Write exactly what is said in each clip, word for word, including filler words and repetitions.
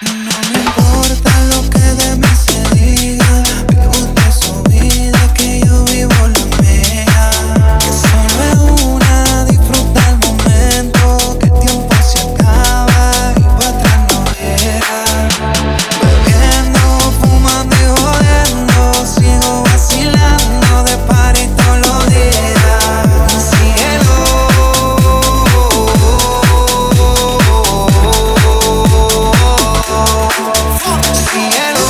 No me importa lo que de mí se diga, vive usted su vida, que yo vivo la mía. Que solo es una, disfruta el momento, que el tiempo se acaba y para atrás no llega. Bebiendo, fumando y jodiendo, sigo vacilando de party todos los días. Cielo, cielo.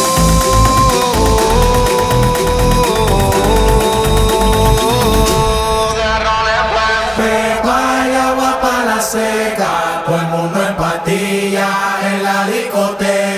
Pego hay agua para la seca, todo el mundo en patilla en la discoteca.